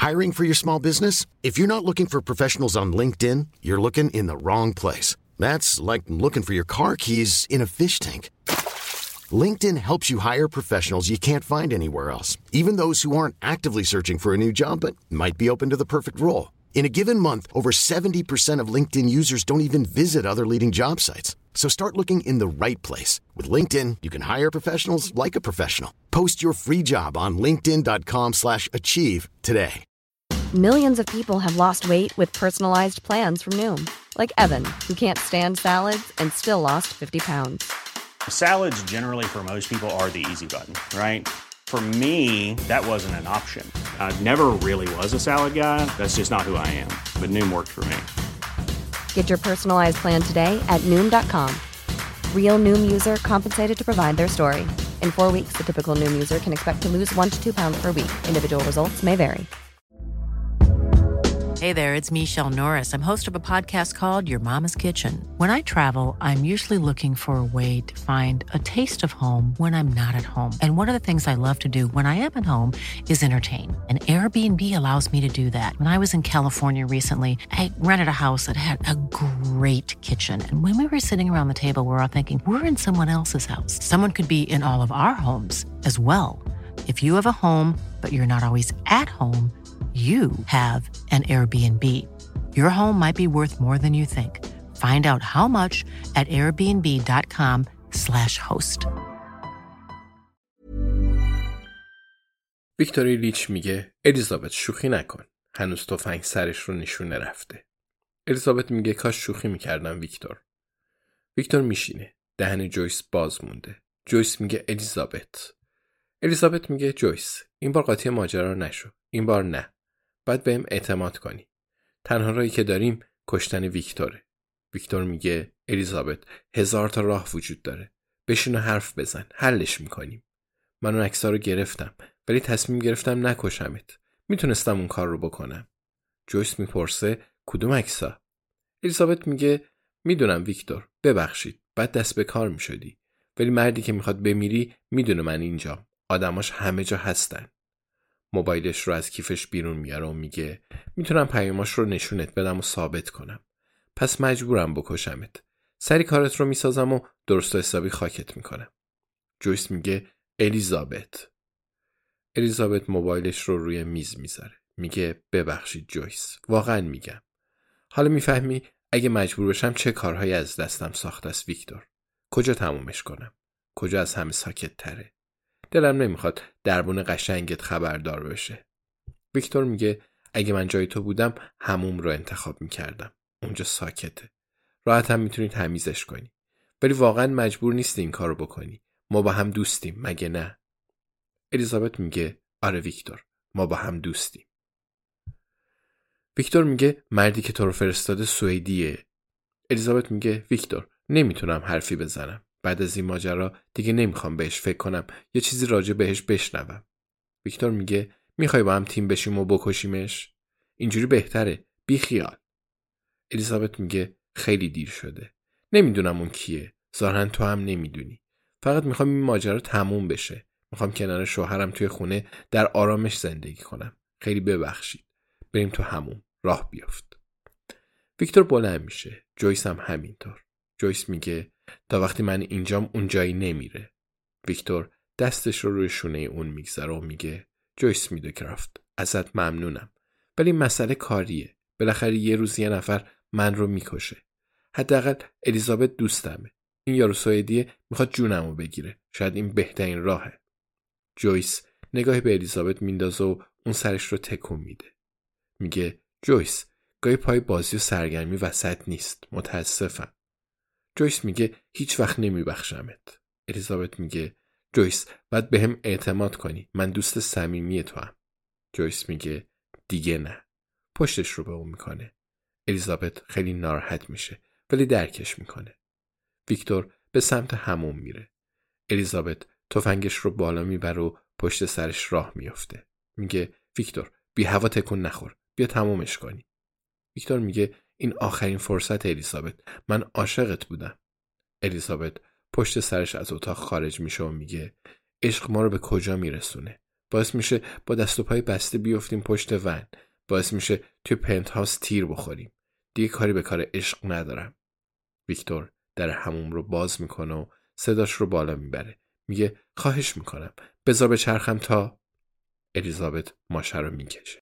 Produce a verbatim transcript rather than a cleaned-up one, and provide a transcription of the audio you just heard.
Hiring for your small business? If you're not looking for professionals on LinkedIn, you're looking in the wrong place. That's like looking for your car keys in a fish tank. LinkedIn helps you hire professionals you can't find anywhere else, even those who aren't actively searching for a new job but might be open to the perfect role. In a given month, over seventy percent of LinkedIn users don't even visit other leading job sites. So start looking in the right place. With LinkedIn, you can hire professionals like a professional. Post your free job on linkedin dot com slash achieve today. Millions of people have lost weight with personalized plans from Noom. Like Evan, who can't stand salads and still lost fifty pounds. Salads generally for most people are the easy button, right? For me, that wasn't an option. I never really was a salad guy. That's just not who I am. But Noom worked for me. Get your personalized plan today at Noom dot com. Real Noom user compensated to provide their story. In four weeks, the typical Noom user can expect to lose one to two pounds per week. Individual results may vary. Hey there, it's Michelle Norris. I'm host of a podcast called Your Mama's Kitchen. When I travel, I'm usually looking for a way to find a taste of home when I'm not at home. And one of the things I love to do when I am at home is entertain. And Airbnb allows me to do that. When I was in California recently, I rented a house that had a great kitchen. And when we were sitting around the table, we were all thinking, we're in someone else's house. Someone could be in all of our homes as well. If you have a home, but you're not always at home, you have an Airbnb. Your home might be worth more than you think. Find out how much at airbnb dot com slash host. ویکتوری لیچ میگه الیزابت شوخی نکن. هنوز تفنگ سرش رو نشونه رفته. الیزابت میگه کاش شوخی میکردم ویکتور. ویکتور میشینه. دهن جویس باز مونده. جویس میگه الیزابت. الیزابت میگه جویس این بار قاطی ماجرا نشو. این بار نه. باید بهم اعتماد کنی. تنها راهی که داریم کشتن ویکتوره. ویکتور میگه الیزابت هزار تا راه وجود داره. بشین و حرف بزن. حلش میکنیم. من اون عکس‌ها رو گرفتم ولی تصمیم گرفتم نکشمت. میتونستم اون کار رو بکنم. جویس میپرسه کدوم عکس‌ها؟ الیزابت میگه میدونم ویکتور. ببخشید. بعد دست به کار میشدی. ولی مردی که میخواد بمیری میدونه من اینجام. آدماش همه جا هستن. موبایلش رو از کیفش بیرون میاره و میگه میتونم پیاماش رو نشونت بدم و ثابت کنم. پس مجبورم بکشمت. سری کارت رو میسازم و درست و حسابی خاکت میکنم. جویس میگه الیزابت. الیزابت موبایلش رو روی میز میذاره. میگه ببخشید جویس. واقعا میگم. حالا میفهمی اگه مجبور بشم چه کارهایی از دستم ساخته است ویکتور. کجا تمومش کنم؟ کجا از همه ساکت تره؟ دلم نمیخواد دربون قشنگت خبردار بشه. ویکتور میگه اگه من جای تو بودم هموم رو انتخاب میکردم. اونجا ساکته. راحت هم میتونی تمیزش کنی. ولی واقعا مجبور نیستی این کارو بکنی. ما با هم دوستیم مگه نه؟ الیزابت میگه آره ویکتور. ما با هم دوستیم. ویکتور میگه مردی که تو رو فرستاده سوئدیه. الیزابت میگه ویکتور نمیتونم حرفی بزنم. بعد از این ماجرا دیگه نمیخوام بهش فکر کنم یا چیزی راجع بهش بشنوم. ویکتور میگه میخوای با هم تیم بشیم و بکشیمش؟ اینجوری بهتره. بی خیال. الیزابت میگه خیلی دیر شده. نمیدونم اون کیه. ظاهرا تو هم نمیدونی. فقط میخوام این ماجرا تموم بشه. میخوام کنار شوهرم توی خونه در آرامش زندگی کنم. خیلی ببخشید. بریم تو همون. راه بیافت. ویکتور بلند میشه. جویس هم همینطور. جویس میگه تا وقتی من اینجام اون جایی نمیره. ویکتور دستش رو روی شونه اون میگذاره و میگه جویس میدوکرافت ازت ممنونم ولی مسئله کاریه. بالاخره یه روز یه نفر من رو میکشه. حداقل الیزابت دوستمه. این یارو سوئدیه میخواد جونمو بگیره. شاید این بهترین راهه. جویس نگاهی به الیزابت میندازه و اون سرش رو تکون میده. میگه جویس گاهی پای بازی و سرگرمی وسط نیست. متاسفم. جویس میگه هیچ وقت نمیبخشمت. الیزابت میگه جویس باید به هم اعتماد کنی. من دوست صمیمی تو هم. جویس میگه دیگه نه. پشتش رو به اون میکنه. الیزابت خیلی ناراحت میشه ولی درکش میکنه. ویکتور به سمت حموم میره. الیزابت تفنگش رو بالا میبره و پشت سرش راه میفته. میگه ویکتور بی هوا تکون نخور. بیا تمومش کنی. ویکتور میگه این آخرین فرصت الیزابت. من عاشقت بودم. الیزابت پشت سرش از اتاق خارج میشه و میگه عشق ما رو به کجا میرسونه؟ باعث میشه با دست و پای بسته بیفتیم پشت ون. باعث میشه توی پنت هاوس تیر بخوریم. دیگه کاری به کار عشق ندارم. ویکتور در حموم رو باز میکنه و صداش رو بالا میبره. میگه خواهش میکنم بذار به چرخم تا. الیزابت ماشه رو میکشه.